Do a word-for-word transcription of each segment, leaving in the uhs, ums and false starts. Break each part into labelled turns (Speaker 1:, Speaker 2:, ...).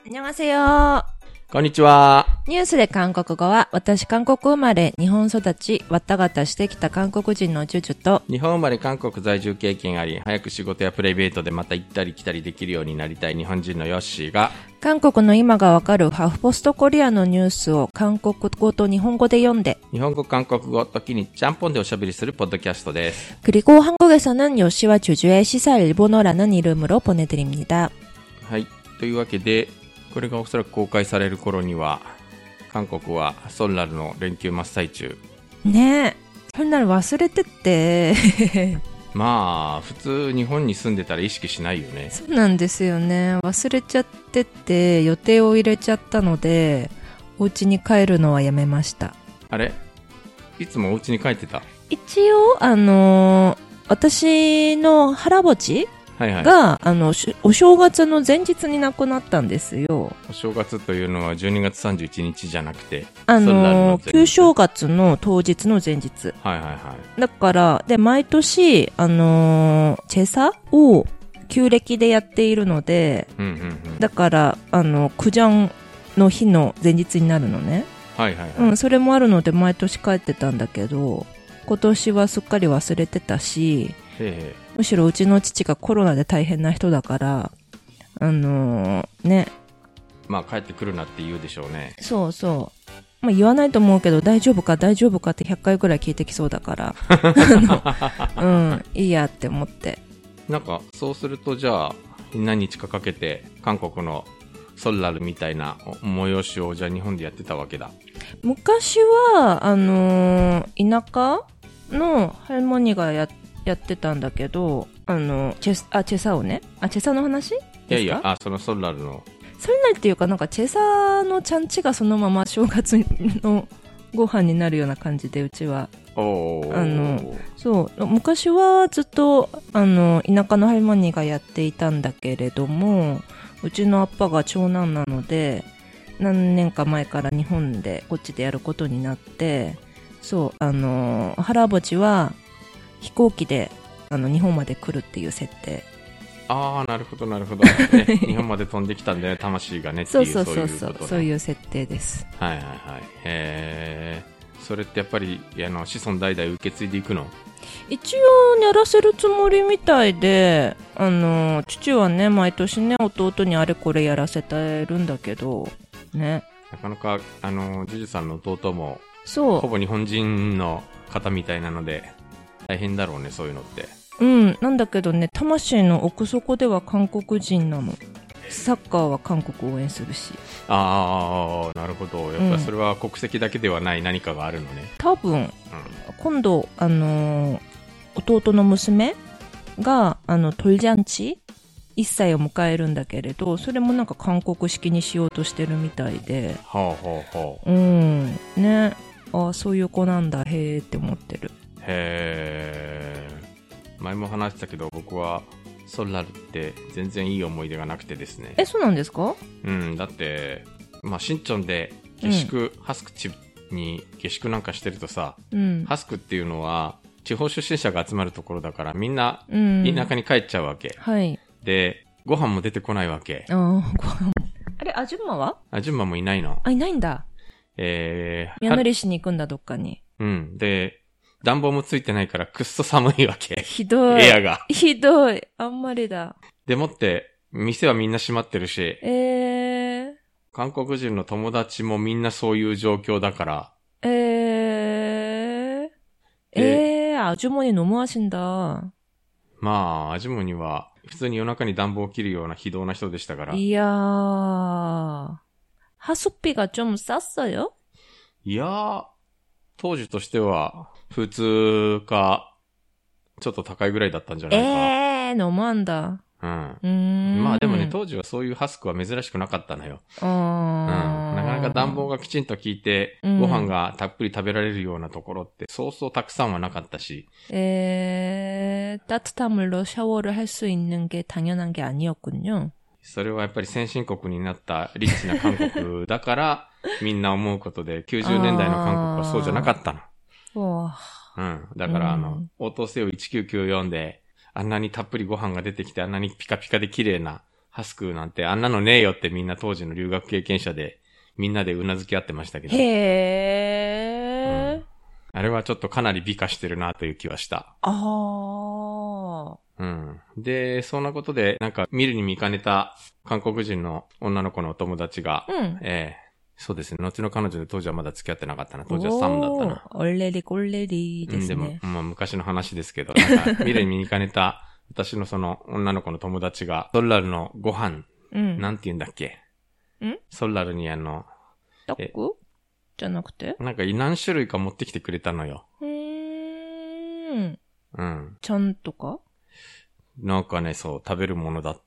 Speaker 1: 안녕하세요。
Speaker 2: こんにちは。
Speaker 1: ニュースで韓国語は、私韓国生まれ、日本育ち、わったがたしてきた韓国人のジュジュと、
Speaker 2: 日本生まれ韓国在住経験あり、早く仕事やプライベートでまた行ったり来たりできるようになりたい日本人のヨッシーが、
Speaker 1: 韓国の今がわかるハーフポストコリアのニュースを韓国語と日本語で読んで、
Speaker 2: 日本語、韓国語、時にちゃんぽんでおしゃべりするポッドキャストです。
Speaker 1: 그리고 한국에서는 요시와 주주의 시사 일본어라는 이름으로 보내드립니다.
Speaker 2: はい。というわけで、これがおそらく公開される頃には、韓国はソンラルの連休真っ最中。
Speaker 1: ねえ、そんなの忘れてって
Speaker 2: まあ普通日本に住んでたら意識しないよね。
Speaker 1: そうなんですよね。忘れちゃってって予定を入れちゃったので、お家に帰るのはやめました。
Speaker 2: あれ、いつもお家に帰ってた？
Speaker 1: 一応あのー、私の原墓地
Speaker 2: はいはい、
Speaker 1: があのお正月の前日に亡くなったんですよ。
Speaker 2: お正月というのはじゅうにがつさんじゅういちにちじゃなくて、
Speaker 1: あのー、旧正月の当日の前日。
Speaker 2: はいはいはい。
Speaker 1: だからで毎年あのー、チェサを旧暦でやっているので、
Speaker 2: うんうんうん、だ
Speaker 1: からあのクジャンの日の前日になるのね。
Speaker 2: はいはいはい。
Speaker 1: うん、それもあるので毎年帰ってたんだけど、今年はすっかり忘れてたし。
Speaker 2: へー、
Speaker 1: むしろうちの父がコロナで大変な人だから、あのー、ね。
Speaker 2: まあ帰ってくるなって言うでしょうね。
Speaker 1: そうそう。まあ言わないと思うけど、大丈夫か大丈夫かってひゃっかいぐらい聞いてきそうだから。うん、いいやって思って。
Speaker 2: なんか、そうするとじゃあ、何日かかけて、韓国のソンラルみたいな催しをじゃあ日本でやってたわけだ。
Speaker 1: 昔は、あのー、田舎のハルモニがやって、やってたんだけど、あの、チェス、あ、チェサをね。あ、チェサの話ですか？
Speaker 2: いやいや、あ、そのソンラルの。
Speaker 1: ソンラルっていうか、なんかチェサのちゃんちがそのまま正月のご飯になるような感じで、うちは。
Speaker 2: おー。
Speaker 1: あの、そう、昔はずっと、あの、田舎のハルモニーがやっていたんだけれども、うちのアッパが長男なので、何年か前から日本で、こっちでやることになって、そう、あの、原墓地は、飛行機であの日本まで来るっていう設定。
Speaker 2: ああ、なるほどなるほど、ね、日本まで飛んできたんだよ魂がねっていう。
Speaker 1: そうそうそうそう、
Speaker 2: そういうことね。
Speaker 1: そういう設定です。
Speaker 2: はいはいはい。へえ。それってやっぱりあの子孫代々受け継いでいくの？
Speaker 1: 一応やらせるつもりみたいで、あの父はね毎年ね弟にあれこれやらせてるんだけどね。
Speaker 2: なかなかあのジュジュさんの弟も
Speaker 1: そう
Speaker 2: ほぼ日本人の方みたいなので大変だろうね、そういうのって。
Speaker 1: うん、なんだけどね、魂の奥底では韓国人なの。サッカーは韓国応援するし。
Speaker 2: ああ、なるほど。やっぱりそれは国籍だけではない何かがあるのね。
Speaker 1: 多分、うん、今度、あのー、弟の娘が、あの、トルジャンチいっさいを迎えるんだけれど、それもなんか韓国式にしようとしてるみたいで。
Speaker 2: はあはあはあ。
Speaker 1: うん、ね。ああ、そういう子なんだ、へーって思ってる。
Speaker 2: へー。前も話したけど僕はソンラルって全然いい思い出がなくてですね。
Speaker 1: え、そうなんですか？
Speaker 2: うん、だってまあ新チョンで下宿、うん、ハスク地に下宿なんかしてるとさ、うん、ハスクっていうのは地方出身者が集まるところだからみんな田舎に帰っちゃうわけ、うん、はいでご飯も出てこないわけ。ああ、ご飯あれ、アジュンマは？アジュンマもいないの。あ、いないんだ。えー、宮乗りしに行くんだ、どっかに。うん。で、暖房もついてないからくっそ寒いわけ。ひどい。部屋が。ひどい。あんまりだ。でもって、店はみんな閉まってるし。えー。韓国人の友達もみんなそういう状況だから。えー。えー、アジュモニ너무하신다。まあ、アジュモニは普通に夜中に暖房を切るような非道な人でしたから。いやー。하숙비가 좀 쌌어요? いやー、当時としては普通かちょっと高いぐらいだったんじゃないか。えー、너무한다。うん。うーん。まあでもね、当時はそういうハスクは珍しくなかったのよ。あー。うん。なかなか暖房がきちんと効いて、うん、ご飯がたっぷり食べられるようなところってそうそうたくさんはなかったし。えー、따뜻한 물로 샤워를 할 수 있는 게 당연한 게 아니었군요。それはやっぱり先進国になったリッチな韓国だからみんな思うことできゅうじゅうねんだいの韓国はそうじゃなかったの。うん。だからあの、応答せよいちきゅうきゅうよんであんなにたっぷりご飯が出てきてあんなにピカピカで綺麗なハスクなんてあんなのねえよってみんな当時の留学経験者でみんなでうなずき合ってましたけど。
Speaker 1: へー、うん。
Speaker 2: あれはちょっとかなり美化してるなという気はした。
Speaker 1: あー。
Speaker 2: うん。で、そんなことで、なんか見るに見かねた韓国人の女の子のお友達が、
Speaker 1: うん、
Speaker 2: えーそうですね。後の彼女で当時はまだ付き合ってなかったな。当時はサムだったな。
Speaker 1: おー、おれりこれりですね。
Speaker 2: うん、でも、まあ昔の話ですけど、なんか見るに見かねた私のその女の子の友達が、ソルラルのご飯、うん、なんて言うんだっけんソルラルにあの、
Speaker 1: タックじゃなくて
Speaker 2: なんか何種類か持ってきてくれたのよ。
Speaker 1: うーん。
Speaker 2: うん。
Speaker 1: ちゃんとか
Speaker 2: なんかね、そう、食べるものだった。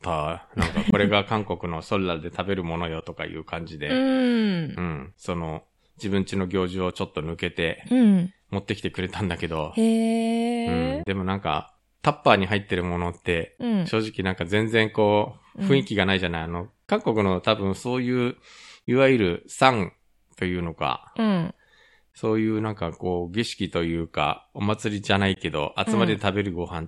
Speaker 2: なんかこれが韓国のソルラルで食べるものよとかいう感じで。
Speaker 1: うん。
Speaker 2: うん。その、自分家の行事をちょっと抜けて、
Speaker 1: うん。
Speaker 2: 持ってきてくれたんだけど。
Speaker 1: へー。
Speaker 2: うん。でもなんか、タッパーに入ってるものって、うん、正直なんか全然こう、雰囲気がないじゃない、うん、あの、韓国の多分そういう、いわゆるサンというのか、うん、そういうなんかこう、儀式というか、お祭りじゃないけど、集まりで食べるご飯って、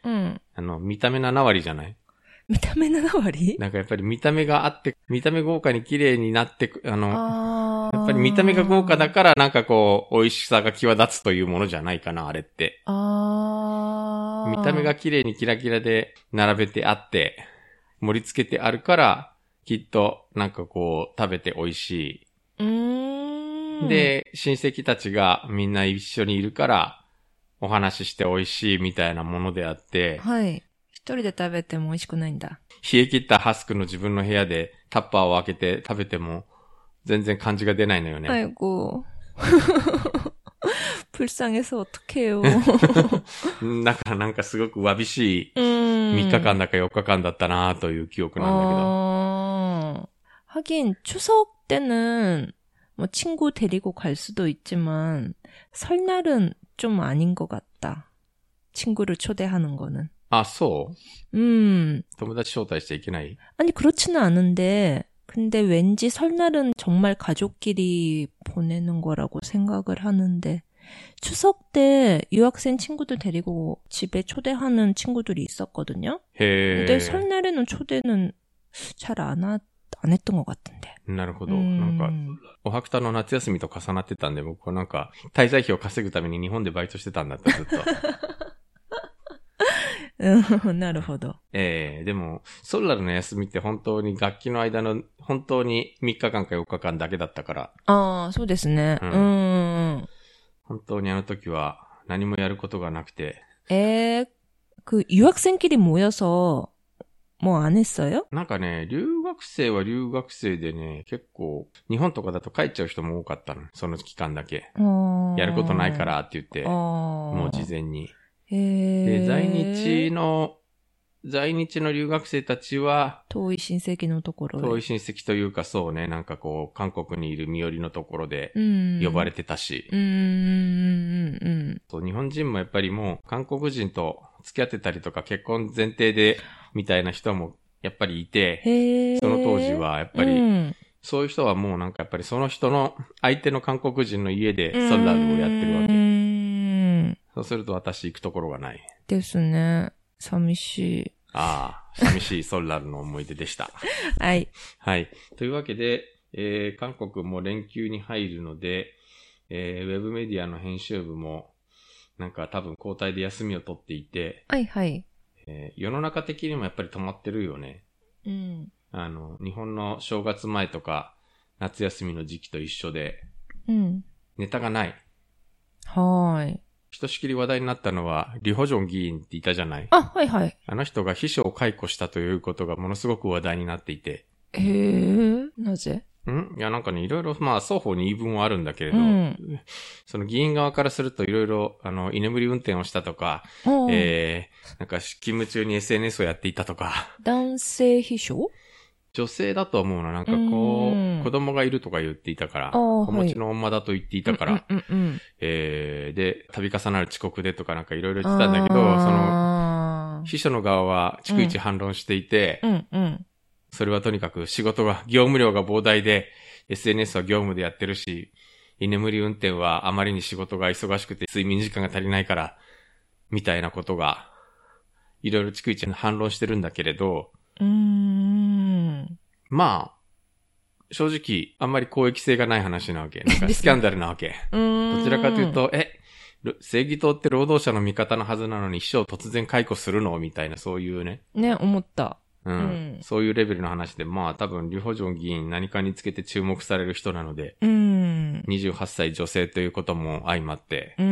Speaker 2: うん、あの、見た目なな割じゃない？
Speaker 1: 見た目なな割？
Speaker 2: なんかやっぱり見た目があって、見た目豪華に綺麗になって、あの、あやっぱり見た目が豪華だからなんかこう、美味しさが際立つというものじゃないかな、あれって。あ見た目が綺麗にキラキラで並べてあって、盛り付けてあるから、きっとなんかこう、食べて美味しい。うーんで、親戚たちがみんな一緒にいるから、お話しして美味しいみたいなものであって、
Speaker 1: はい。一人で食べても美味しくないんだ。
Speaker 2: 冷え切ったハスクの自分の部屋でタッパーを開けて食べても全然感じが出ないのよね。
Speaker 1: 아이고. 불쌍해서 어떡해요.
Speaker 2: だからなんかすごくわびしいみっかかんだかよっかかんだったなという記憶なんだけど.
Speaker 1: 어... 하긴 추석 때는 뭐 친구 데리고 갈 수도 있지만 설날은 좀 아닌 것 같다. 친구를 초대하는 거는.
Speaker 2: 아, そう?
Speaker 1: 음.
Speaker 2: 友達招待しちゃいけない?
Speaker 1: 아니 그렇지는 않은데 근데 왠지 설날은 정말 가족끼리 보내는 거라고 생각을 하는데 추석 때 유학생 친구들 데리고 집에 초대하는 친구들이 있었거든요. 해. 근데 설날에는 초대는 잘 안 하, 안 했던 것 같은데.
Speaker 2: なるほど。なんか、おはくたの夏休みと重なってたんで、僕はなんか、滞在費を稼ぐために日本でバイトしてたんだった、ずっと。
Speaker 1: なるほど。
Speaker 2: ええー、でも、ソルラルの休みって本当に楽器の間の、本当にみっかかんかよっかかんだけだったから。
Speaker 1: ああ、そうですね。うん。うん
Speaker 2: 本当にあの時は何もやることがなくて。
Speaker 1: えー、그 유학생끼리 모여서 뭐 안 했어요?
Speaker 2: なんかね、留学生は留学生でね、結構、日本とかだと帰っちゃう人も多かったの。その期間だけ。やることないからって言って、もう事前に。で、在日の、在日の留学生たちは、
Speaker 1: 遠い親戚のところ
Speaker 2: 遠い親戚というかそうね、なんかこう、韓国にいる身寄りのところで、呼ばれてたし。うんうんうんそう日本人もやっぱりもう、韓国人と付き合ってたりとか、結婚前提で、みたいな人もやっぱりいて、その当時はやっぱり、うん、そういう人はもうなんかやっぱりその人の、相手の韓国人の家でソルラルをやってるわけ。うんそうすると私行くところがない。
Speaker 1: ですね。寂しい。
Speaker 2: ああ、寂しいソルラルの思い出でした。
Speaker 1: はい。
Speaker 2: はい。というわけで、えー、韓国も連休に入るので、えー、ウェブメディアの編集部も、なんか多分交代で休みを取っていて、
Speaker 1: はいはい。
Speaker 2: えー、世の中的にもやっぱり止まってるよね。うん。あの、日本の正月前とか、夏休みの時期と一緒で、うん。ネタがない。
Speaker 1: はーい。
Speaker 2: ひとしきり話題になったのは、リホジョン議員っていたじゃない？
Speaker 1: あ、はいはい。
Speaker 2: あの人が秘書を解雇したということがものすごく話題になっていて。
Speaker 1: へー、なぜ？
Speaker 2: んいや、なんかね、いろいろ、まあ、双方に言い分はあるんだけれど、うん、その議員側からするといろいろ、あの、居眠り運転をしたとか、えー、なんか、勤務中に エスエヌエス をやっていたとか。
Speaker 1: 男性秘書？
Speaker 2: 女性だと思うの。なんかこう、子供がいるとか言っていたから、子持ちの女だと言っていたから、うんうんうん、えー、で、度重なる遅刻でとかなんかいろいろ言ってたんだけど、その、秘書の側は逐一反論していて、うんうんうんそれはとにかく仕事が、業務量が膨大で、エスエヌエス は業務でやってるし、居眠り運転はあまりに仕事が忙しくて睡眠時間が足りないから、みたいなことが、いろいろ逐一反論してるんだけれど、うーんまあ、正直、あんまり公益性がない話なわけ。なんかスキャンダルなわけ。どちらかというと、え、正義党って労働者の味方のはずなのに秘書を突然解雇するのみたいな、そういうね。
Speaker 1: ね、思った。
Speaker 2: うん。うん、そういうレベルの話で、まあ多分、リュホジョン議員何かにつけて注目される人なので、
Speaker 1: うん。
Speaker 2: にじゅうはっさい女性ということも相まって。
Speaker 1: うん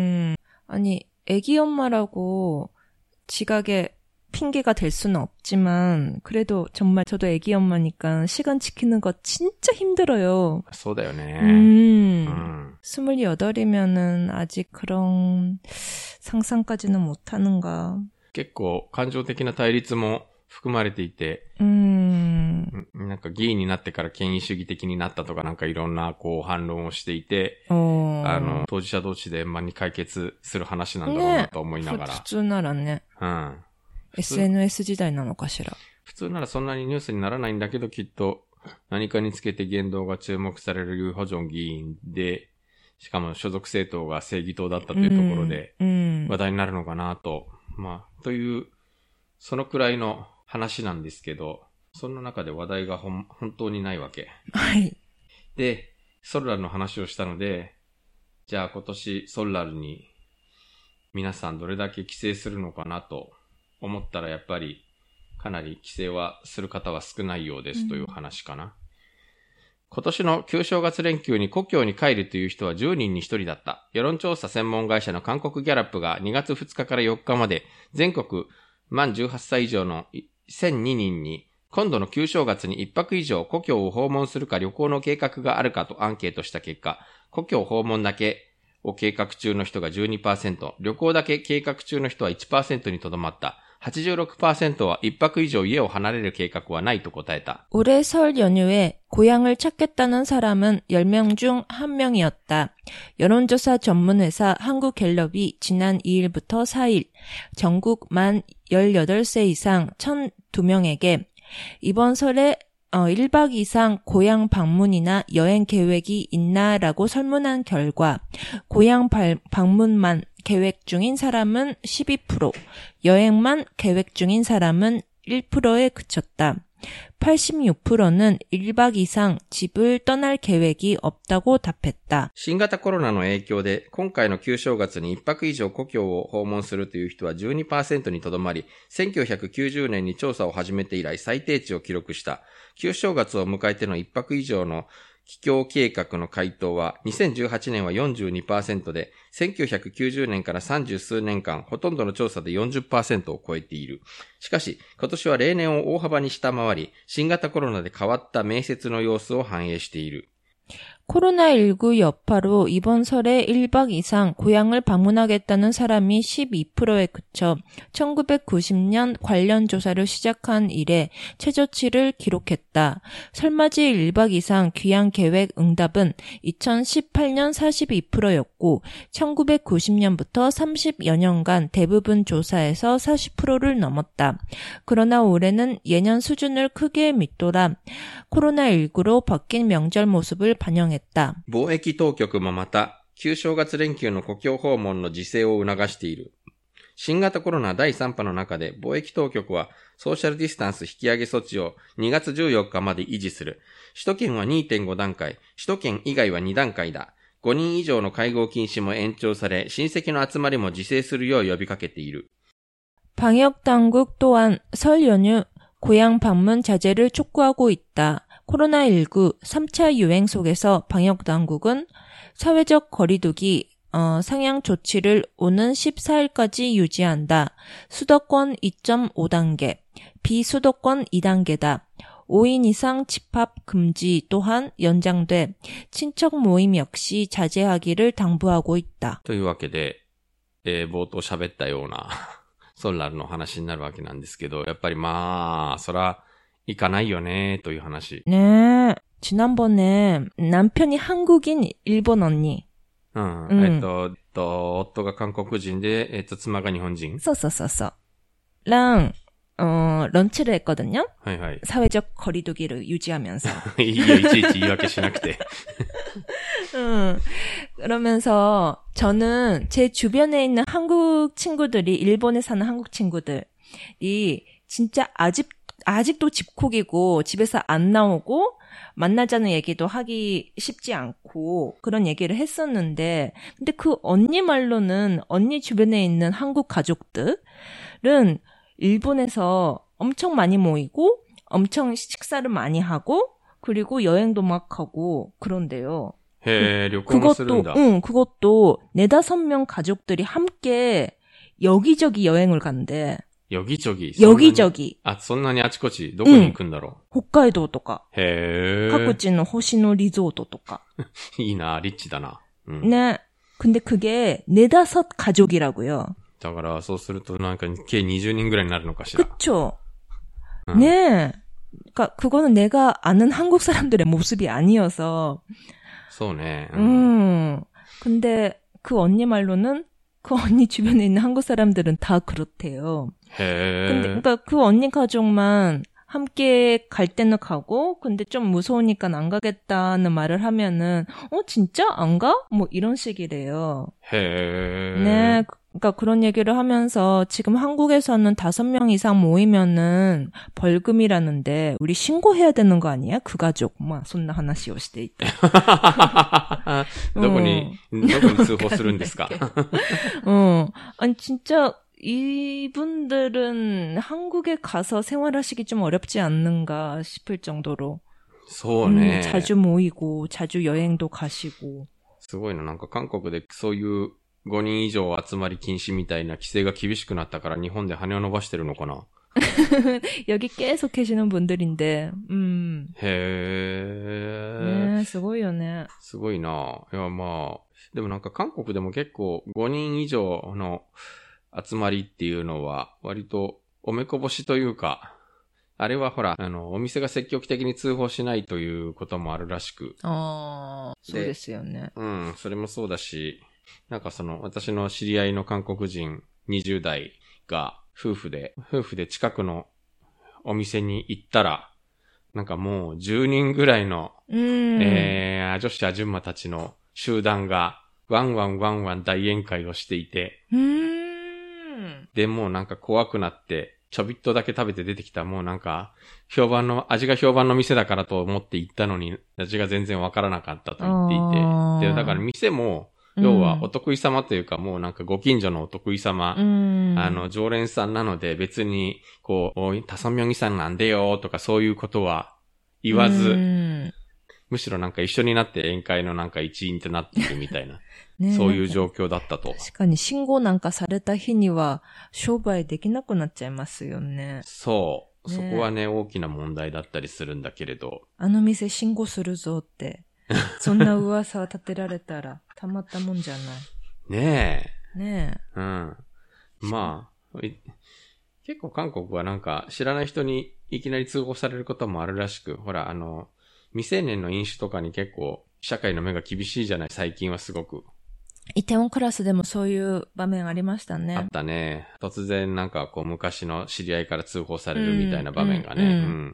Speaker 1: 。아니、애기엄마라고 지각에 핑계가 될 수는 없지만 그래도 정말 저도 애기 엄마니까 시간 지키는 거 진짜 힘들어요.
Speaker 2: そうだよね.
Speaker 1: 음. 음. 스물여덟이면은 아직 그런 상상까지는 못하는가.
Speaker 2: 結構感情的な対立も含まれていて、
Speaker 1: うん
Speaker 2: なんか議員になってから権威主義的になったとかなんかいろんなこう反論をしていて、あの当事者同士で円満に解決する話なんだろうなと思いながら。
Speaker 1: ね、普通ならね。
Speaker 2: うん。
Speaker 1: エスエヌエス 時代なのかしら。
Speaker 2: 普通ならそんなにニュースにならないんだけど、きっと何かにつけて言動が注目されるユー・ホジョン議員で、しかも所属政党が正義党だったというところで話題になるのかなと、うん、まあというそのくらいの話なんですけど、そんな中で話題がほん本当にないわけ。
Speaker 1: はい。
Speaker 2: で、ソルラルの話をしたので、じゃあ今年ソルラルに皆さんどれだけ規制するのかなと思ったら、やっぱりかなり規制はする方は少ないようですという話かな。うん、今年の旧正月連休に故郷に帰るという人はじゅうにんにひとりだった。世論調査専門会社の韓国ギャラップがにがつふつかからよっかまで全国満じゅうはっさい以上のせんににんに今度の旧正月にいっぱく以上故郷を訪問するか旅行の計画があるかとアンケートした結果、故郷訪問だけを計画中の人が じゅうにパーセント、旅行だけ計画中の人は いちパーセント にとどまった。はちじゅうろくパーセント はいっぱく以上家を離れる計画はないと答えた。
Speaker 1: 올해 설 연휴에 고향을 찾겠다는 사람은 열 명 중 한 명이었다. 여론조사 전문회사 한국갤럽이 지난 이 일부터 사 일 전국 만 열여덟 세 이상 천이 명에게 이번 설에 어, 일 박 이상 고향 방문이나 여행 계획이 있나라고 설문한 결과 고향 발, 방문만 계획 중인 사람은 십이 퍼센트, 여행만 계획 중인 사람은 일 퍼센트에 그쳤다. 팔십육 퍼센트는 일 박 이상 집을 떠날 계획이 없다고 답했다.
Speaker 2: 新型コロナの影響で今回の旧正月にいっぱく以上故郷を訪問するという人は じゅうにパーセント にとどまり、せんきゅうひゃくきゅうじゅうねんに調査を始めて以来最低値を記録した。旧正月を迎えてのいっぱく以上の帰郷計画の回答はにせんじゅうはちねんは よんじゅうにパーセント で、せんきゅうひゃくきゅうじゅうねんからさんじゅうすうねんかんほとんどの調査で よんじゅっパーセント を超えている。しかし今年は例年を大幅に下回り、新型コロナで変わった面接の様子を反映している。
Speaker 1: 코로나십구 여파로 이번 설에 일 박 이상 고향을 방문하겠다는 사람이 십이 퍼센트에 그쳐 천구백구십 년 관련 조사를 시작한 이래 최저치를 기록했다. 설맞이 일 박 이상 귀향 계획 응답은 이천십팔 년 사십이 퍼센트였고 천구백구십 년부터 삼십여 년간 대부분 조사에서 사십 퍼센트를 넘었다. 그러나 올해는 예년 수준을 크게 밑돌아 코로나십구로 바뀐 명절 모습을 반영했다.
Speaker 2: 貿易当局もまた、旧正月連休の故郷訪問の自制を促している。新型コロナだいさん波の中で貿易当局はソーシャルディスタンス引き上げ措置をにがつじゅうよっかまで維持する。首都圏は にてんご 段階、首都圏以外はに段階だ。ごにん以上の会合禁止も延長され、親戚の集まりも自制するよう呼びかけている。
Speaker 1: 방역당국 또한 설 연휴 고향 방문 자제를 촉구하고 있다. 코로나십구 삼 차 유행 속에서 방역당국은 사회적 거리두기 어, 상향 조치를 오는 십사 일까지 유지한다. 수도권 이 점 오 단계, 비수도권 이 단계다. 오 인 이상 집합 금지 또한 연장돼 친척 모임 역시 자제하기를 당부하고 있다.
Speaker 2: というわけで、えー、冒頭喋ったようなソルラルの話になるわけなんですけど、やっぱりまあ、そら行かないよねという話。
Speaker 1: ねえ。지난번에 남편이 한국인 일본 언니.
Speaker 2: うん。うん、えっと、えっと、夫が韓国人で、えっと、妻が日本人。
Speaker 1: そうそうそうそう。랑 어, 런치를 했거든요.
Speaker 2: 하이하이.
Speaker 1: 사회적 거리두기를 유지하면서.
Speaker 2: 이게 이치이치 이와케しなくて.
Speaker 1: 응. 그러면서 저는 제 주변에 있는 한국 친구들이 일본에 사는 한국 친구들이 진짜 아직 아직도 집콕이고 집에서 안 나오고 만나자는 얘기도 하기 쉽지 않고 그런 얘기를 했었는데 근데 그 언니 말로는 언니 주변에 있는 한국 가족들은 일본에서 엄청 많이 모이고 엄청 식사를 많이 하고 그리고 여행도 막 하고 그런데요.
Speaker 2: 해,旅行もするんだ.
Speaker 1: 응, 그것도 네다섯 명 가족들이 함께 여기저기 여행을 간대.
Speaker 2: 여기저기?
Speaker 1: 여기저기.
Speaker 2: 아, そんなにあちこちどこに行くんだろう?
Speaker 1: 응. 홋카이도 とか.
Speaker 2: 해.
Speaker 1: 各地の星野リゾートとか.
Speaker 2: いいな、リッチだな. 응.
Speaker 1: 네. 근데 그게 네다섯 가족이라고요.
Speaker 2: だからそうするとなんか計にじゅうにんぐらいになるのかしら.
Speaker 1: 그쵸. 응. 네. 그러니까 그거는 내가 아는 한국 사람들의 모습이 아니어서.
Speaker 2: そうね.
Speaker 1: 음. 음. 근데 그 언니 말로는 그 언니 주변에 있는 한국 사람들은 다 그렇대요.
Speaker 2: 해.
Speaker 1: 근데 그러니까 그 언니 가족만 함께 갈 때는 가고 근데 좀 무서우니까 안 가겠다는 말을 하면은 어 진짜 안 가? 뭐 이런 식이래요.
Speaker 2: 해.
Speaker 1: 네. 그러니까 그런 얘기를 하면서 지금 한국에서는 다섯 명 이상 모이면은 벌금이라는데 우리 신고해야 되는 거 아니야? 그 가족. 막 손나 하나씩 오시대 있다.
Speaker 2: どこにどこに通報するんですか?
Speaker 1: 어. 아니 진짜 이분들은 한국에 가서 생활하시기 좀 어렵지 않는가 싶을 정도로.
Speaker 2: そうね.
Speaker 1: 음, 자주 모이고 자주 여행도 가시고.
Speaker 2: すごいな。なんか韓国でそういうごにん以上集まり禁止みたいな規制が厳しくなったから日本で羽を伸ばしてるのかな?
Speaker 1: 여기 계속 계시는 분들인데, 음.
Speaker 2: 해.
Speaker 1: 네, すごいよね.
Speaker 2: すごいな。いや、まあ、でもなんか韓国でも結構ごにん以上の集まりっていうのは割とおめこぼしというか、あれはほら、あの、お店が積極的に通報しないということもあるらしく。
Speaker 1: ああ、そうですよね。
Speaker 2: うん、それもそうだし、なんかその、私の知り合いの韓国人にじゅう代が夫婦で、夫婦で近くのお店に行ったら、なんかもうじゅうにんぐらいの、えー、女子アジュンマたちの集団が、ワンワンワンワン大宴会をしていて、
Speaker 1: うーん
Speaker 2: で、もうなんか怖くなって、ちょびっとだけ食べて出てきた、もうなんか、評判の、味が評判の店だからと思って行ったのに、味が全然わからなかったと言っていて、で、だから店も、要はお得意様というか、もうなんかご近所のお得意様、うん、あの、常連さんなので別に、こう、おい、タソミョンギさんなんでよとかそういうことは言わず、うん、むしろなんか一緒になって宴会のなんか一員となっているみたいな、ね、そういう状況だったと。
Speaker 1: 確かに信号なんかされた日には商売できなくなっちゃいますよね。
Speaker 2: そう。ね、そこはね、大きな問題だったりするんだけれど。
Speaker 1: あの店信号するぞって。そんな噂を立てられたら、たまったもんじゃない。
Speaker 2: ね
Speaker 1: え。ね
Speaker 2: え。うん。まあ、結構韓国はなんか知らない人にいきなり通報されることもあるらしく、ほら、あの、未成年の飲酒とかに結構社会の目が厳しいじゃない、最近はすごく。
Speaker 1: イテウォンクラスでもそういう場面ありましたね。
Speaker 2: あったね。突然なんかこう昔の知り合いから通報されるみたいな場面がね。うん。うんうん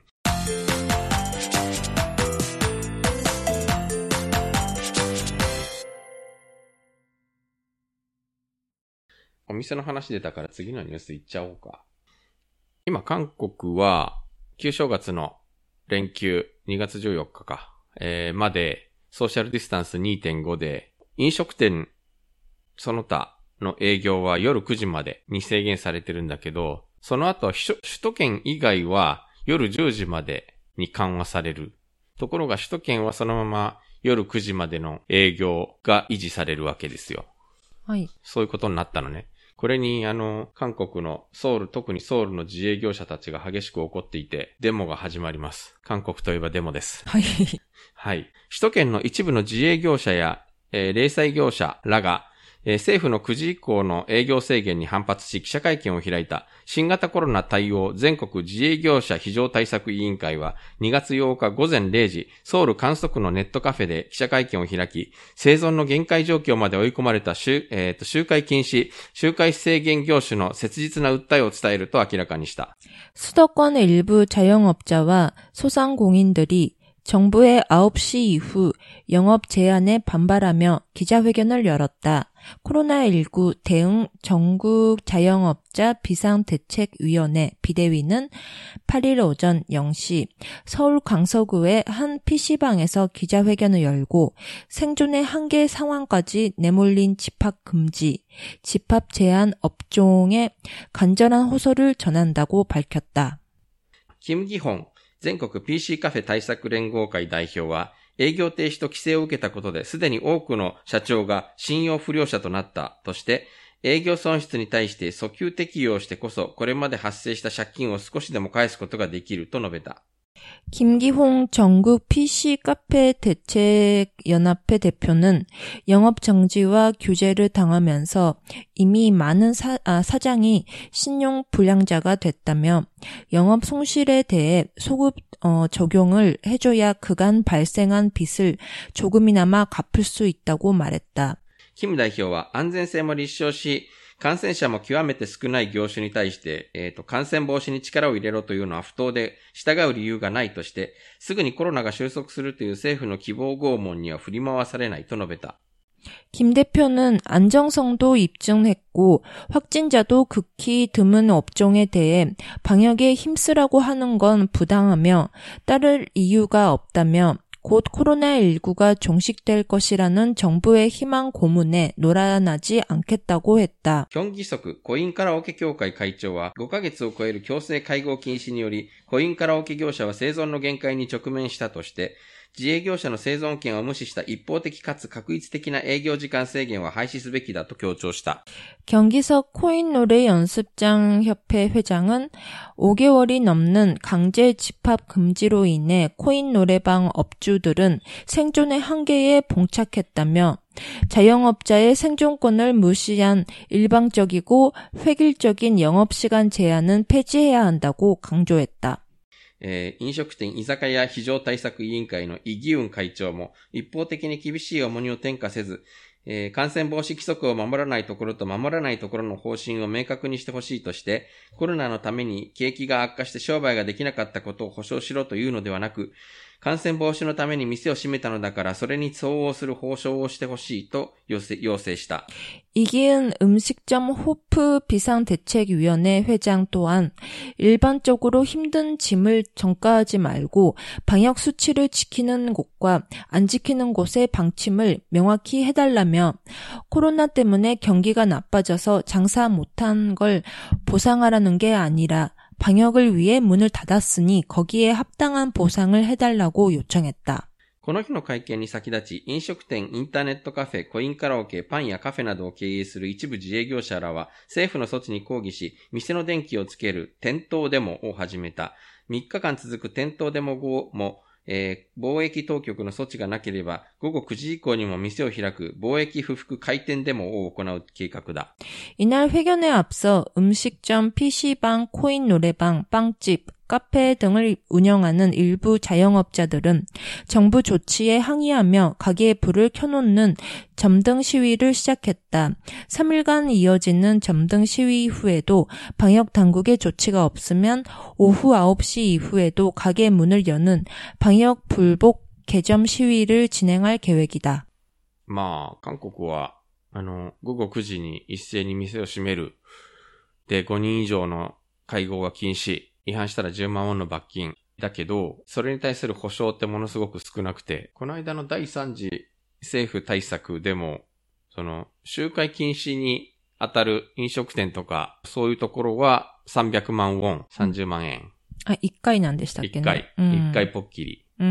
Speaker 2: お店の話出たから次のニュースいっちゃおうか。今韓国は旧正月の連休にがつじゅうよっかか、えー、までソーシャルディスタンス にてんご で飲食店その他の営業は夜くじまでに制限されてるんだけど、その後は首都圏以外は夜じゅうじまでに緩和される。ところが首都圏はそのまま夜くじまでの営業が維持されるわけですよ。
Speaker 1: はい。
Speaker 2: そういうことになったのね。これにあの、韓国のソウル、特にソウルの自営業者たちが激しく怒っていて、デモが始まります。韓国といえばデモです。
Speaker 1: はい。
Speaker 2: はい。首都圏の一部の自営業者や、えー、零細業者らが、えー、政府のくじ以降の営業制限に反発し記者会見を開いた新型コロナ対応全国自営業者非常対策委員会はにがつようかごぜんれいじ、ソウル観測のネットカフェで記者会見を開き、生存の限界状況まで追い込まれた集、えー、と集会禁止、集会制限業種の切実な訴えを伝えると明らかにした。
Speaker 1: 수도권의 일부 자영업자와 소상공인들이 정부의 아홉 시 이후 영업 제한에 반발하며 기자회견을 열었다. 코로나십구 대응 전국 자영업자 비상대책위원회 비대위는 팔 일 오전 영 시 서울 강서구의 한 피시방에서 기자회견을 열고 생존의 한계 상황까지 내몰린 집합 금지, 집합 제한 업종에 간절한 호소를 전한다고 밝혔다.
Speaker 2: 김기홍全国 피씨 カフェ対策連合会代表は、営業停止と規制を受けたことで、すでに多くの社長が信用不良者となったとして、営業損失に対して訴求適用してこそ、これまで発生した借金を少しでも返すことができると述べた。
Speaker 1: 김기홍 전국 피씨 카페 대책연합회 대표는 영업 정지와 규제를 당하면서 이미 많은 사, 아, 사장이 신용 불량자가 됐다며 영업 손실에 대해 소급 어, 적용을 해줘야 그간 발생한 빚을 조금이나마 갚을 수 있다고 말했다.
Speaker 2: 김代表は安全性も立証し、感染者も極めて少ない業種に対して、えっと、感染防止に力を入れろというのは不当で、従う理由がないとして、すぐにコロナが収束するという政府の希望拷問には振り回されないと述べた。
Speaker 1: 김 대표는 안정성도 입증했고 확진자도 극히 드문 업종에 대해 방역에 힘쓰라고 하는 건 부당하며 따를 이유가 없다며 곧 코로나십구가 종식될 것이라는 정부의 희망 고문에 노란하지 않겠다고 했다.
Speaker 2: 경기석コインカラオケ協会会長はごかげつを超える強制会合禁止によりコインカラオケ業者は生存の限界に直面したとして自営業者の生存権を無視した一方的かつ確一的な営業時間制限は廃止すべきだと強調した。
Speaker 1: 경기석 코인노래 연습장 협회 회장은 오 개월이 넘는 강제 집합 금지로 인해 코인 노래방 업주들은 생존의 한계에 봉착했다며 자영업자의 생존권을 무시한 일방적이고 획일적인 영업시간 제한은 폐지해야 한다고 강조했다.
Speaker 2: えー、飲食店居酒屋非常対策委員会のイ・ギウン会長も一方的に厳しい重荷を転嫁せず、えー、感染防止規則を守らないところと守らないところの方針を明確にしてほしいとして、コロナのために景気が悪化して商売ができなかったことを保証しろというのではなく、感染防止のために店を閉めたのだからそれに相応する報奨をしてほしいと要請、要請した。
Speaker 1: 이기은 음식점 호프 비상대책위원회 회장 또한 일반적으로 힘든 짐을 전가하지 말고 방역 수치를 지키는 곳과 안 지키는 곳의 방침을 명확히 해달라며 코로나 때문에 경기가 나빠져서 장사 못한 걸 보상하라는 게 아니라 방역을 위해 문을 닫았으니 거기에 합당한 보상을 해달라고 요청했다.
Speaker 2: この日の会見に先立ち、飲食店、インターネットカフェ、コインカラオケ、パンやカフェなどを経営する一部自営業者らは、政府の措置に抗議し、店の電気をつける点灯デモを始めた。みっかかん続く点灯デモ後も、えー、貿易当局の措置がなければ、午後くじ以降にも店を開く貿易不服開店デモを行う計画だ。
Speaker 1: 이날 회견에 앞서 음식점, 피씨방, 코인 노래방, 빵집, 카페 등을 운영하는 일부 자영업자들은 정부 조치에 항의하며 가게에 불을 켜놓는 점등 시위를 시작했다. 삼 일간 이어지는 점등 시위 후에도 방역 당국의 조치가 없으면 오후 아홉 시 이후에도 가게 문을 여는 방역 불복 개점 시위를 진행할 계획이다.
Speaker 2: まあ、韓国は、あの、午後くじに一斉に店を閉める。で、ごにん以上の会合が禁止。違反したらじゅうまんウォンの罰金。だけど、それに対する保証ってものすごく少なくて、この間のだいさん次政府対策でも、その、集会禁止に当たる飲食店とか、そういうところはさんびゃくまんウォン、さんじゅうまんえん。
Speaker 1: あ、いっかいなんでしたっけね。
Speaker 2: いっかい。うん、いっかいぽっきり。
Speaker 1: うん。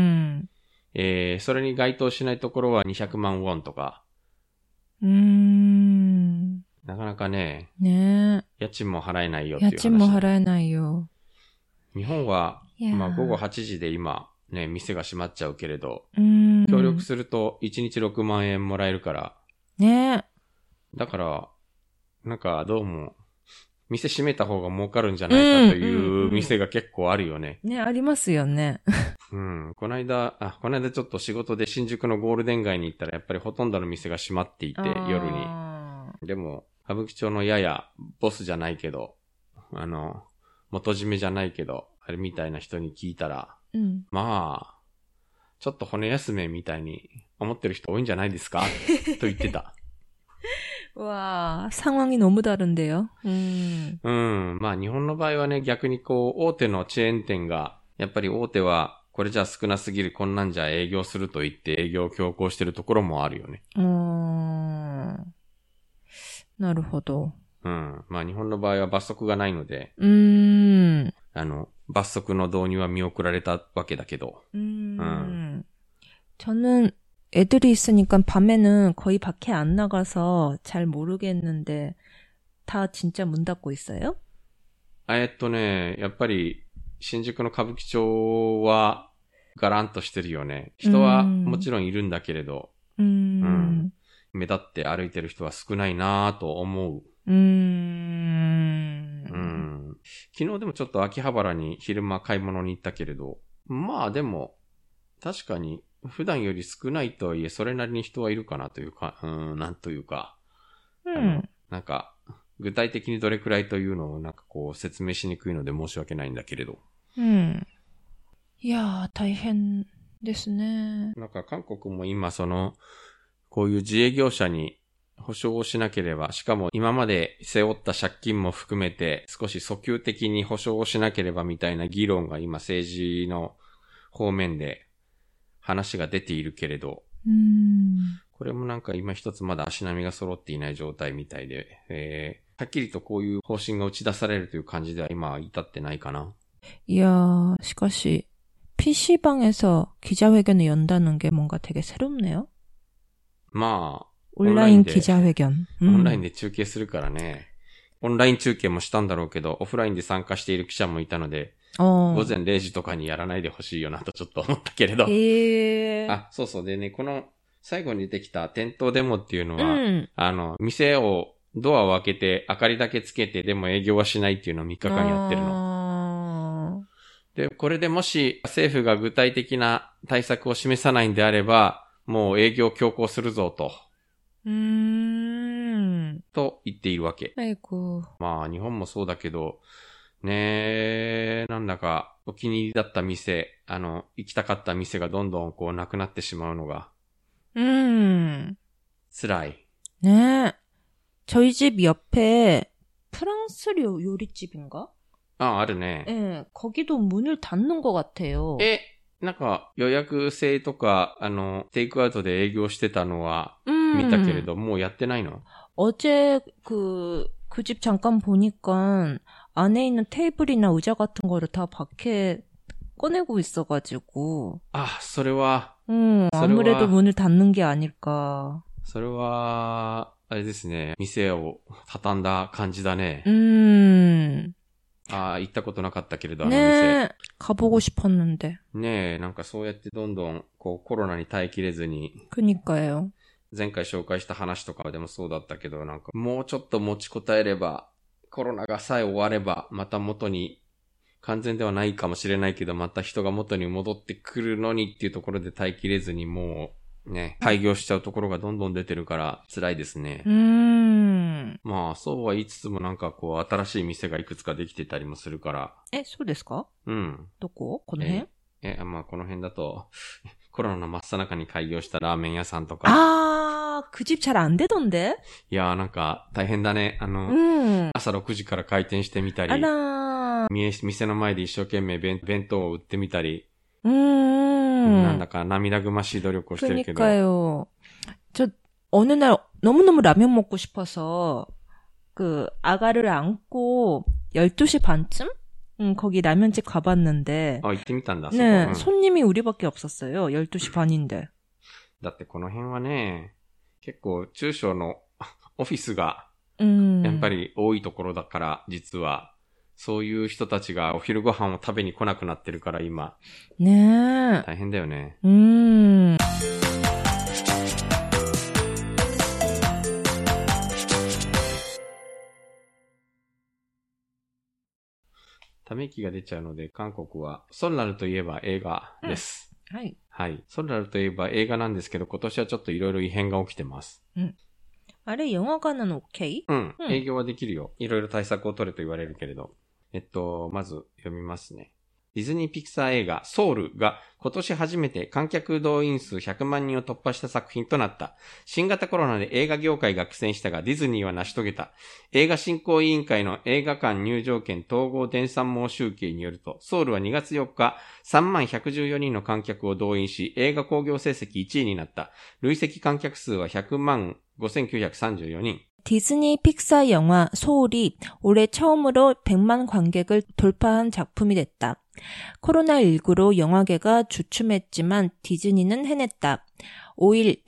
Speaker 2: えー、それに該当しないところはにひゃくまんウォンとか。
Speaker 1: うーん。
Speaker 2: なかなかね、
Speaker 1: ねえ。
Speaker 2: 家賃も払えないよっていう話。
Speaker 1: 家賃も払えないよ。
Speaker 2: 日本は、まあ午後はちじで今、ね、店が閉まっちゃうけれど、
Speaker 1: うーん。
Speaker 2: 協力するといちにちろくまんえんもらえるから。
Speaker 1: ねえ。
Speaker 2: だから、なんかどうも、店閉めた方が儲かるんじゃないかという店が結構あるよね。
Speaker 1: ね、ありますよね。
Speaker 2: うん。この間、あ、この間ちょっと仕事で新宿のゴールデン街に行ったらやっぱりほとんどの店が閉まっていて、夜に。でも、歌舞伎町のややボスじゃないけど、あの、元締めじゃないけど、あれみたいな人に聞いたら、
Speaker 1: うん、
Speaker 2: まあ、 ちょっと骨休めみたいに思ってる人多いんじゃないですかと言ってた。
Speaker 1: わー、상황이 너무 다른데요. 음.
Speaker 2: うん。まあ日本の場合はね、逆にこう、大手のチェーン店が、やっぱり大手は、これじゃ少なすぎる、こんなんじゃ営業すると言って営業を強行してるところもあるよね。
Speaker 1: うーん。なるほど。
Speaker 2: うん。まあ日本の場合は罰則がないので、
Speaker 1: うーん。
Speaker 2: あの、罰則の導入は見送られたわけだけど。
Speaker 1: うん。うん、저는 애들이 있으니까 밤에는 거의 밖에 안 나가서 잘 모르겠는데 다 진짜 문 닫고 있어요?
Speaker 2: えっとね、やっぱり新宿の歌舞伎町はガランとしてるよね。人はもちろんいるんだけれど、
Speaker 1: うん、うん、
Speaker 2: 目立って歩いてる人は少ないなぁと思う。
Speaker 1: うーん、
Speaker 2: うん。昨日でもちょっと秋葉原に昼間買い物に行ったけれど、まあでも確かに普段より少ないとはいえ、それなりに人はいるかなというか、うーん、なんというか、
Speaker 1: うん、
Speaker 2: なんか、具体的にどれくらいというのをなんかこう説明しにくいので申し訳ないんだけれど。
Speaker 1: うん。いやー、大変ですね。
Speaker 2: なんか韓国も今その、こういう自営業者に保証をしなければ、しかも今まで背負った借金も含めて少し訴求的に保証をしなければみたいな議論が今政治の方面で話が出ているけれど、
Speaker 1: うーん、
Speaker 2: これもなんか今一つまだ足並みが揃っていない状態みたいで、えー、はっきりとこういう方針が打ち出されるという感じでは今は至ってないかな。
Speaker 1: いやー、しかし、피씨방에서 기자회견을 연다는 게 뭔가 되게 새롭네요.
Speaker 2: まあ、
Speaker 1: 온라인 기자회견.
Speaker 2: オンラインで中継するからね。オンライン中継もしたんだろうけど、オフラインで参加している記者もいたので、午前れいじとかにやらないでほしいよなとちょっと思ったけれど。
Speaker 1: へー。
Speaker 2: あ、そうそう。でね、この最後に出てきた店頭デモっていうのは、
Speaker 1: うん、あ
Speaker 2: の、店をドアを開けて明かりだけつけてでも営業はしないっていうのをみっかかんやってるの。で、これでもし政府が具体的な対策を示さないんであれば、もう営業強行するぞと。
Speaker 1: うーん。
Speaker 2: と言っているわけ。
Speaker 1: あいこ。
Speaker 2: まあ日本もそうだけど、ねえ、なんだかお気に入りだった店、あの、行きたかった店がどんどんこうなくなってしまうのが。
Speaker 1: うーん。
Speaker 2: 辛い。
Speaker 1: ねえ。저희 집 옆에 프랑스료 요리집인가?
Speaker 2: 아, あるね。
Speaker 1: 네, 거기도 문을 닫는 것 같아요.
Speaker 2: え、なんか予約制とか、あの、テイクアウトで営業してたのは見たけれど、もうやってないの?
Speaker 1: 어제 그, 그 집 잠깐 보니까 안에 있는 테이블이나 의자 같은 거를 다 밖에 꺼내고 있어가지고.
Speaker 2: 아, それは.
Speaker 1: 음, 아무래도 문을 닫는 게 아닐까.
Speaker 2: それは、あれですね。店を畳んだ感じだね。
Speaker 1: 음.
Speaker 2: ああ、行ったことなかったけれど、あの
Speaker 1: 店。ね、가보고 싶었는데.
Speaker 2: ねえ、なんかそうやってどんどん、こう、コロナに耐えきれずに。
Speaker 1: 그니까요.
Speaker 2: 前回紹介した話とかでもそうだったけど、なんか、もうちょっと持ちこたえれば、コロナがさえ終われば、また元に、完全ではないかもしれないけど、また人が元に戻ってくるのにっていうところで耐えきれずに、もう、ね、廃業しちゃうところがどんどん出てるから辛いですね。
Speaker 1: うーん。
Speaker 2: まあ、そうは言いつつもなんかこう、新しい店がいくつかできてたりもするから。
Speaker 1: え、そうですか？
Speaker 2: うん。
Speaker 1: どこ？この辺？
Speaker 2: え、え、まあこの辺だと、コロナの真っ最中に開業したラーメン屋さんとか。
Speaker 1: あー、그 집 잘 안 되던데？
Speaker 2: いやーなんか大変だね。あの、
Speaker 1: うん、
Speaker 2: 朝ろくじから開店してみたり。
Speaker 1: あらー。
Speaker 2: 店の前で一生懸命弁当を売ってみたり。
Speaker 1: うーん。
Speaker 2: なんだか涙ぐましい努力をしてるけど。
Speaker 1: 그러니까요. 저 어느 날 너무너무 라면 먹고 싶어서 그 아가를 안고 열두 시 반쯤? 응, 거기 라면집 가봤는데.
Speaker 2: 아, 行ってみたんだ.
Speaker 1: 네,
Speaker 2: 응.
Speaker 1: 손님이 우리밖에 없었어요. 열두 시 반인데.
Speaker 2: だってこの辺はね、結構中小のオフィスが
Speaker 1: や
Speaker 2: っぱり多いところだから、実は。そういう人たちがお昼ご飯を食べに来なくなってるから今。
Speaker 1: ねえ。
Speaker 2: 大変だよね。
Speaker 1: うーん。
Speaker 2: ため息が出ちゃうので、韓国はソンラルといえば映画です。
Speaker 1: うん、はい。
Speaker 2: はい。ソンラルといえば映画なんですけど、今年はちょっといろいろ異変が起きてます。
Speaker 1: うん。あれ、영화관은 OK？
Speaker 2: うん。営業はできるよ。いろいろ対策を取れと言われるけれど。えっと、まず読みますね。 ディズニーピクサー映画ソウルが今年初めて観客動員数ひゃくまんにんを突破した作品となった。新型コロナで映画業界が苦戦したがディズニーは成し遂げた。映画振興委員会の映画館入場券統合電算網集計によると、ソウルはにがつよっかさんまんひゃくじゅうよにんの観客を動員し、映画興行成績いちいになった。累積観客数はひゃくまんごせんきゅうひゃくさんじゅうよにん。
Speaker 1: 디즈니 픽사 영화 소울이 올해 처음으로 백만 관객을 돌파한 작품이 됐다. 코로나십구로 영화계가 주춤했지만 디즈니는 해냈다. 오 일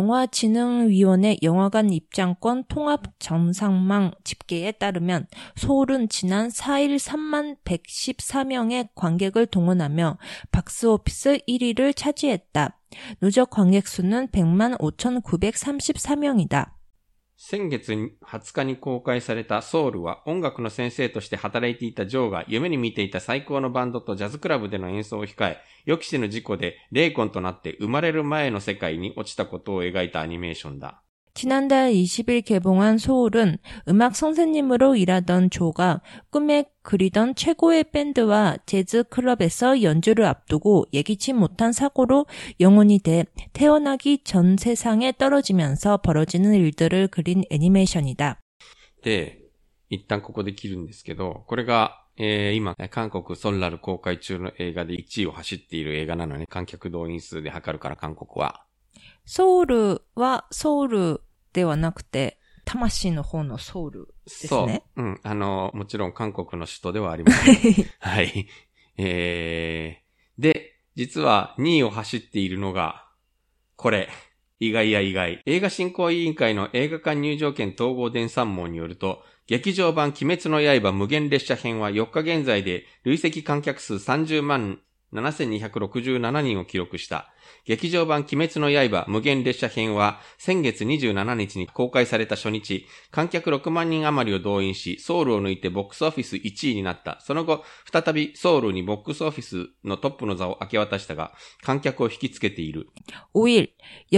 Speaker 1: 영화진흥위원회 영화관 입장권 통합 정상망 집계에 따르면 소울은 지난 사 일 삼만 백십사 명의 관객을 동원하며 박스오피스 일 위를 차지했다. 누적 관객 수는 백만 오천구백삼십사 명이다.
Speaker 2: 先月はつかに公開されたソウルは音楽の先生として働いていたジョーが夢に見ていた最高のバンドとジャズクラブでの演奏を控え、予期しぬ事故で霊魂となって生まれる前の世界に落ちたことを描いたアニメーションだ。
Speaker 1: 지난달 이십 일 개봉한 소울은 음악 선생님으로 일하던 조가 꿈에 그리던 최고의 밴드와 재즈 클럽에서 연주를 앞두고 예기치 못한 사고로 영혼이 돼 태어나기 전 세상에 떨어지면서 벌어지는 일들을 그린 애니메이션이다.
Speaker 2: で、一旦ここで切るんですけど、これが、えー、今、韓国ソンラル公開中の映画でいちいを走っている映画なのね、観客動員数で測るから韓国は。
Speaker 1: ソウルはソウルではなくて、魂の方のソウルですね。
Speaker 2: そう。うん。あの、もちろん韓国の首都ではありません。はい。えー、で、実はにいを走っているのが、これ。意外や意外。映画振興委員会の映画館入場券統合電算網によると、劇場版鬼滅の刃無限列車編はよっか現在で累積観客数さんじゅうまんななせんにひゃくろくじゅうななにんを記録した。劇場版鬼滅の刃無限列車編は先月にじゅうしちにちに公開された初日、観客ろくまんにん余りを動員し、ソウルを抜いてボックスオフィスいちいになった。その後、再びソウルにボックスオフィスのトップの座を明け渡したが、観客を引きつけている。
Speaker 1: 오 일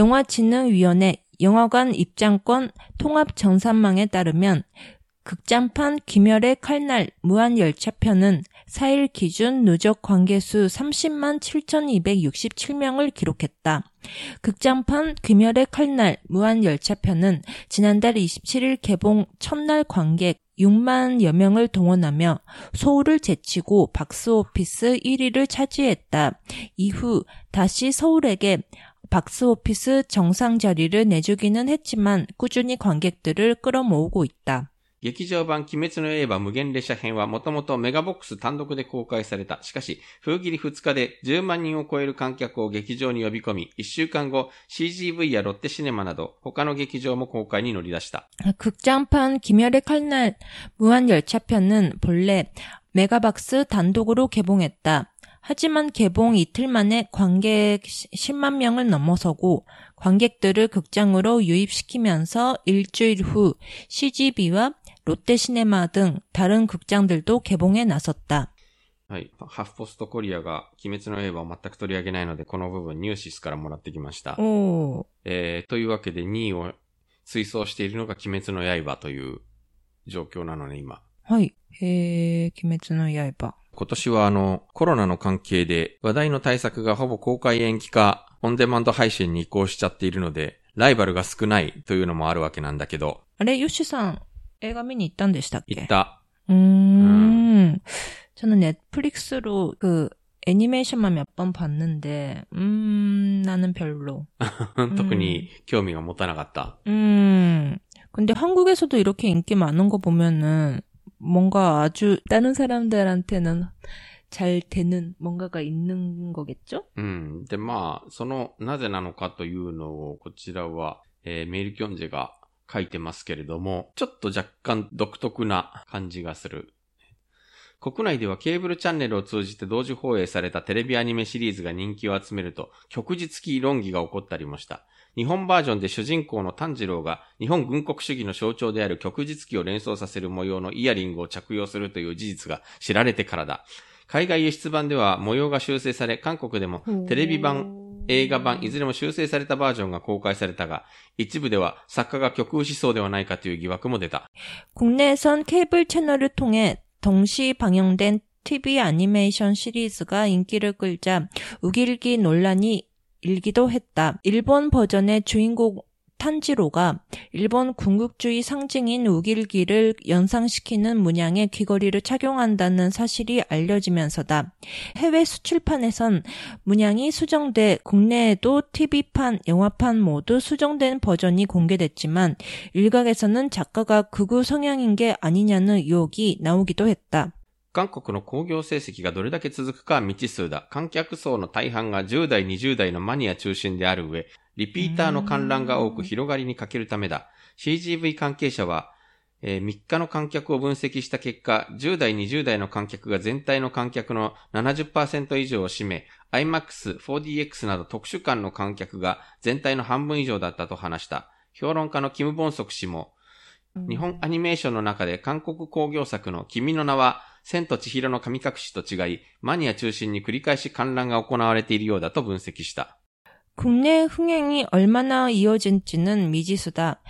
Speaker 1: 영화진흥위원회 영화관 입장권 통합 정산망에 따르면 극장판 귀멸의 칼날 무한열차편은 사 일 기준 누적 관객수 삼십만 칠천이백육십칠 명을 기록했다. 극장판 귀멸의 칼날 무한열차편은 지난달 이십칠 일 개봉 첫날 관객 육만여 명을 동원하며 소울을 제치고 박스오피스 일 위를 차지했다. 이후 다시 서울에게 박스오피스 정상 자리를 내주기는 했지만 꾸준히 관객들을 끌어모으고 있다.
Speaker 2: 劇場版鬼滅の刃無限列車編はもともとメガボックス単独で公開された。しかし、封切りふつかでじゅうまんにんを超える観客を劇場に呼び込み、いっしゅうかんご シージーブイ やロッテシネマなど他の劇場も公開に乗り出した。
Speaker 1: 극장판 귀멸의 칼날 무한열차편은 본래 메가박스 단독으로 개봉했다. 하지만 개봉 이틀 만에 관객 십만 명을 넘어서고 관객들을 극장으로 유입시키면서 일주일 후 씨지비와 롯데시네마 등 다른 극장들도 개봉에 나섰다.
Speaker 2: はい。ハフポストコリアが鬼滅の刃を全く取り上げないので、この部分ニューシスからもらってきました。
Speaker 1: おー。
Speaker 2: えー、というわけでにいを追走しているのが鬼滅の刃という状況なのね、今。
Speaker 1: はい。えー、鬼滅の刃。
Speaker 2: 今年はあの、コロナの関係で話題の対策がほぼ公開延期か、オンデマンド配信に移行しちゃっているので、ライバルが少ないというのもあるわけなんだけど。
Speaker 1: あれ、ヨッシュさん、映画見に行ったんでしたっけ？
Speaker 2: 行った。
Speaker 1: うーん。저는 넷플릭스로 그 애니메이션만 몇 번 봤는데, 음, 나는 별로.
Speaker 2: 特に興味が持たなかった。
Speaker 1: 음. 근데 한국에서도 이렇게 인기 많은 거 보면은 뭔가 아주 다른 사람들한테는 잘 되는 뭔가가 있는 거겠죠?
Speaker 2: うん。で、まあ、その、なぜなのかというのを、こちらは、えー、メールキョンジェが書いてますけれども、ちょっと若干独特な感じがする。国内ではケーブルチャンネルを通じて同時放映されたテレビアニメシリーズが人気を集めると、旭日期論議が起こったりもした。日本バージョンで主人公の炭治郎が日本軍国主義の象徴である旭日期を連想させる模様のイヤリングを着用するという事実が知られてからだ。海外輸出版では模様が修正され、韓国でもテレビ版、映画版いずれも修正されたバージョンが公開されたが、一部では作家が極右思想ではないかという疑惑も出た。
Speaker 1: 국내에선 케이블 채널을 통해 동시 방영된 티비 애니메이션 시리즈가 인기를 끌자 우길기 논란이 일기도 했다. 일본 버전의 주인공 탄지로가 일본 군국주의 상징인 우길기를 연상시키는 문양의 귀걸이를 착용한다는 사실이 알려지면서다. 해외 수출판에선 문양이 수정돼 국내에도 티비판, 영화판 모두 수정된 버전이 공개됐지만 일각에서는 작가가 극우 성향인 게 아니냐는 의혹이 나오기도 했다.
Speaker 2: 韓国の興行成績がどれだけ続くかは未知数だ。観客層の大半がじゅう代、にじゅう代のマニア中心である上、リピーターの観覧が多く広がりに欠けるためだ。シージーブイ 関係者は、えー、みっかの観客を分析した結果、じゅう代、にじゅう代の観客が全体の観客の ななじゅっパーセント 以上を占め、アイマックス、フォーディーエックス など特殊館の観客が全体の半分以上だったと話した。評論家のキム・ボンソク氏も、日本アニメーションの中で韓国興行作の君の名は、千と千尋の神隠しと違い、マニア中心に繰り返し観覧が行われているようだと分析した。
Speaker 1: 국내 흥행이 얼마나 이어진지는 미지수다.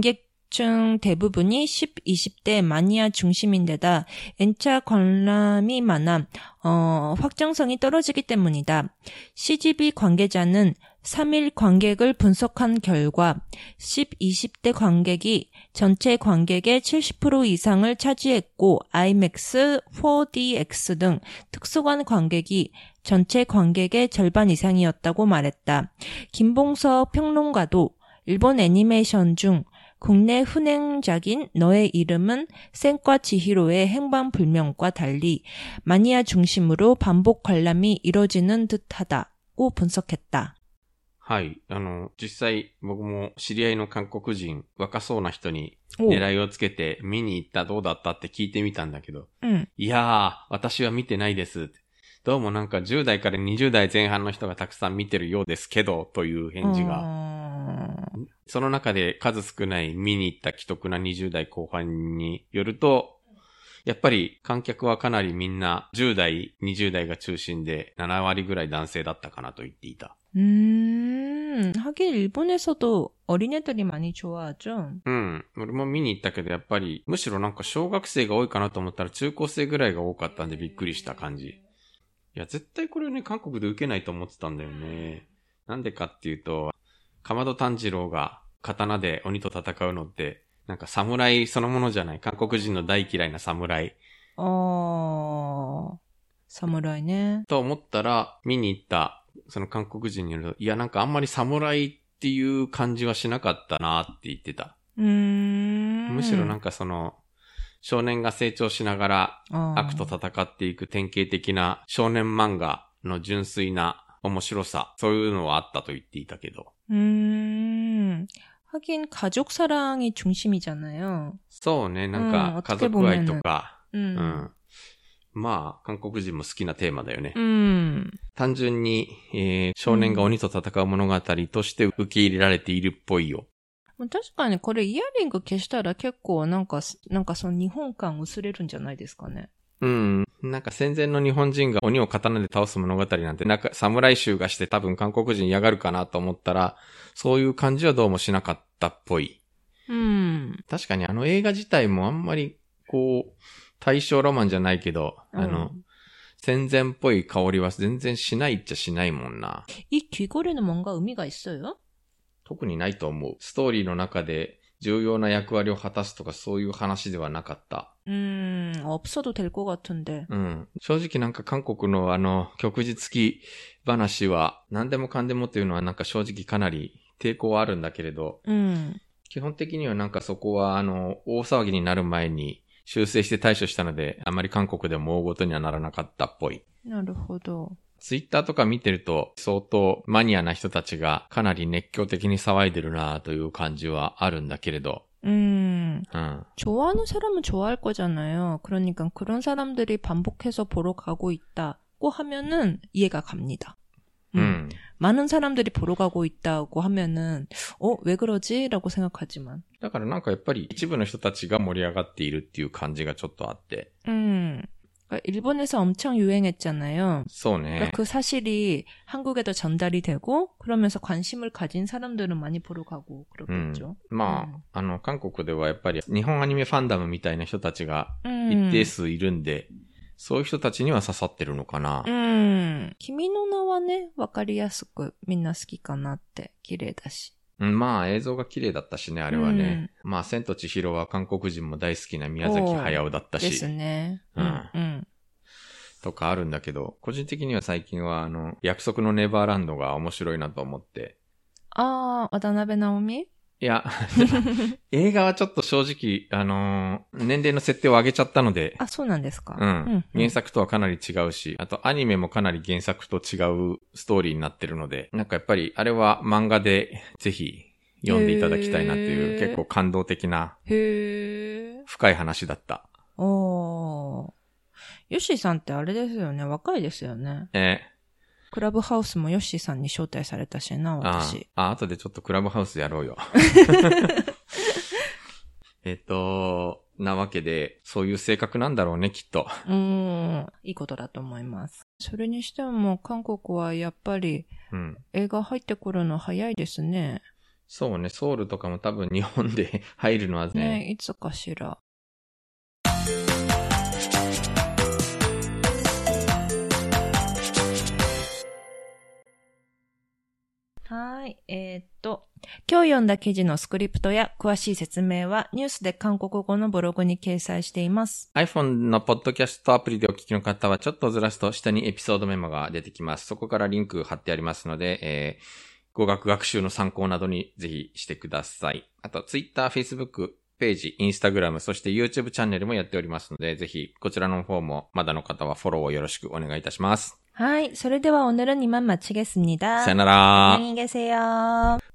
Speaker 1: 관객중 대부분이 십, 이십 대 마니아 중심인데다 N차 관람이 많아 어, 확정성이 떨어지기 때문이다. 씨지비 관계자는 삼 일 관객을 분석한 결과 십, 이십 대 관객이 전체 관객의 칠십 퍼센트 이상을 차지했고 아이맥스, 포디엑스 등 특수관 관객이 전체 관객의 절반 이상이었다고 말했다. 김봉석 평론가도 일본 애니메이션 중 국내 흥행작인 너의 이름은 센과 지히로의 행방불명과 달리 마니아 중심으로 반복 관람이 이뤄지는 듯하다고 분석했다.
Speaker 2: はい。あの、実際僕も知り合いの韓国人、若そうな人に狙いをつけて見に行ったどうだったって聞いてみたんだけど、うん、いやー、私は見てないです。どうもなんかじゅう代からにじゅう代前半の人がたくさん見てるようですけど、という返事が。その中で数少ない見に行った既得なにじゅう代後半によると、やっぱり観客はかなりみんなじゅう代、にじゅう代が中心でなな割ぐらい男性だったかなと言っていた。
Speaker 1: 음, 하긴 일본에서도 어린애들이 많이 좋아하죠.
Speaker 2: 응, 俺も見に行ったけどやっぱりむしろなんか小学生が多いかなと思ったら中高生ぐらいが多かったんでびっくりした感じ。いや、絶対これね、韓国で受けないと思ってたんだよね。なんでかっていうと、かまど炭治郎が刀で鬼と戦うのって、なんか侍そのものじゃない。韓国人の大嫌いな侍。
Speaker 1: あー、侍ね。
Speaker 2: と思ったら、見に行ったその韓国人によると、いやなんかあんまり侍っていう感じはしなかったなって言ってた。
Speaker 1: うーん。
Speaker 2: むしろなんかその、少年が成長しながら悪と戦っていく典型的な少年漫画の純粋な面白さ、そういうのはあったと言っていたけど。
Speaker 1: うーん。하긴 가족 사랑이 중심이잖아요.
Speaker 2: そうね、なんか家族愛とか、うん、うん。まあ、韓国人も好きなテーマだよね。
Speaker 1: うん、
Speaker 2: 単純に、えー、少年が鬼と戦う物語として受け入れられているっぽいよ。
Speaker 1: 確かにこれイヤリング消したら結構なんか、なんかその日本感薄れるんじゃないですかね。
Speaker 2: うん。なんか戦前の日本人が鬼を刀で倒す物語なんて、なんか侍衆がして多分韓国人嫌がるかなと思ったら、そういう感じはどうもしなかったっぽい。
Speaker 1: うん。
Speaker 2: 確かにあの映画自体もあんまり、こう、大正ロマンじゃないけど、あの、うん、戦前っぽい香りは全然しないっちゃしないもんな。
Speaker 1: 이 귀걸이는 뭔가 의미가 있어요?
Speaker 2: 特にないと思う。ストーリーの中で重要な役割を果たすとかそういう話ではなかった。
Speaker 1: うーん、없어도 될 것 같은데。
Speaker 2: うん。正直なんか韓国のあの、旭日付き話は何でもかんでもっていうのはなんか正直かなり抵抗はあるんだけれど、
Speaker 1: うん、
Speaker 2: 基本的にはなんかそこはあの、大騒ぎになる前に修正して対処したので、あまり韓国でも大ごとにはならなかったっぽい。
Speaker 1: なるほど。
Speaker 2: ツイッターとか見てると相当マニアな人たちがかなり熱狂的に騒いでるなという感じはあるんだけれど。
Speaker 1: 음,
Speaker 2: 음.
Speaker 1: 좋아하는 사람은 좋아할 거잖아요. 그러니까 그런 사람들이 반복해서 보러 가고 있다고 하면은 이해가 갑니다. 음. 음. 많은 사람들이 보러 가고 있다고 하면은 어, 왜 그러지? 라고 생각하지만.
Speaker 2: だからなんかやっぱり一部の人たちが盛り上がっているっていう感じがちょっとあって。
Speaker 1: 음. 일본에서 엄청 유행했잖아요. 그러니까 그 사실이 한국에도 전달이 되고 그러면서 관심을 가진 사람들은 많이 보러 가고 그렇겠죠.
Speaker 2: まあ、あの韓国ではやっぱり日本アニメファンダムみたいな人たちが一定数いるんで、 そういう人たちには刺さってるのかな。
Speaker 1: うん。君の名はね、わかりやすくみんな好きかなって、綺麗だし。
Speaker 2: うん、まあ映像が綺麗だったしね、あれはね。うん、まあ千と千尋は韓国人も大好きな宮崎駿だったし。
Speaker 1: ですね。
Speaker 2: うん。うん。とかあるんだけど、個人的には最近はあの、約束のネバーランドが面白いなと思って。
Speaker 1: ああ、渡辺直美？
Speaker 2: いや、映画はちょっと正直、あのー、年齢の設定を上げちゃったので。
Speaker 1: あ、そうなんですか。
Speaker 2: うん。うん、原作とはかなり違うし、あとアニメもかなり原作と違うストーリーになってるので、なんかやっぱりあれは漫画でぜひ読んでいただきたいなっていう結構感動的な、へー、深い話だった。
Speaker 1: おー。ヨッシーさんってあれですよね。若いですよね。
Speaker 2: えー
Speaker 1: クラブハウスもヨッシーさんに招待されたしな、私。
Speaker 2: ああ、あとでちょっとクラブハウスやろうよ。えっと、なわけで、そういう性格なんだろうね、きっと。
Speaker 1: うーん、いいことだと思います。それにしても、韓国はやっぱり、うん、映画入ってくるの早いですね。
Speaker 2: そうね、ソウルとかも多分日本で入るのはね。
Speaker 1: ね、いつかしら。はい。えー、っと、今日読んだ記事のスクリプトや詳しい説明はニュースで韓国語のブログに掲載しています。
Speaker 2: iPhone のポッドキャストアプリでお聞きの方はちょっとずらすと下にエピソードメモが出てきます。そこからリンク貼ってありますので、えー、語学学習の参考などにぜひしてください。あと Twitter、Facebook、ページ、Instagram、そして YouTube チャンネルもやっておりますので、ぜひこちらの方もまだの方はフォローをよろしくお願いいたします。
Speaker 1: はい。それでは오늘은 이만 마치겠습니다.
Speaker 2: 사요나라.
Speaker 1: 안녕히 계세요.